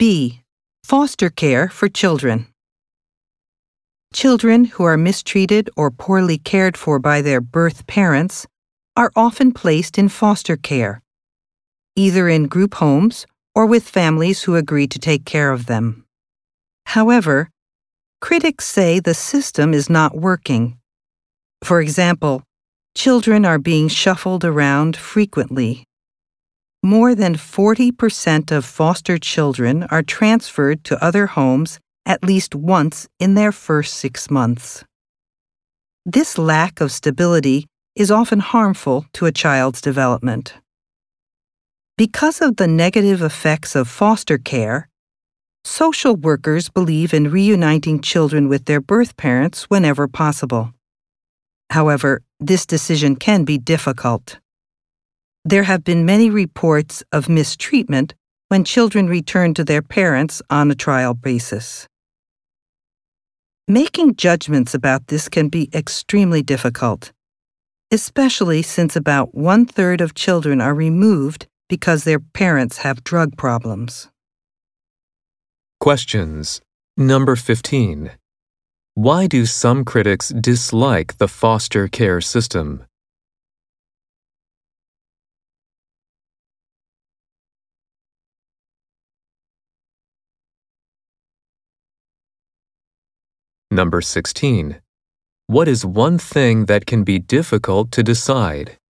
B. Foster care for children. Children who are mistreated or poorly cared for by their birth parents are often placed in foster care, either in group homes or with families who agree to take care of them. However, critics say the system is not working. For example, children are being shuffled around frequently. More than 40% of foster children are transferred to other homes at least once in their first 6 months. This lack of stability is often harmful to a child's development. Because of the negative effects of foster care, social workers believe in reuniting children with their birth parents whenever possible. However, this decision can be difficult. There have been many reports of mistreatment when children return to their parents on a trial basis. Making judgments about this can be extremely difficult, especially since about 1/3 of children are removed because their parents have drug problems. Questions. Number 15. Why do some critics dislike the foster care system? Number 16. What is one thing that can be difficult to decide?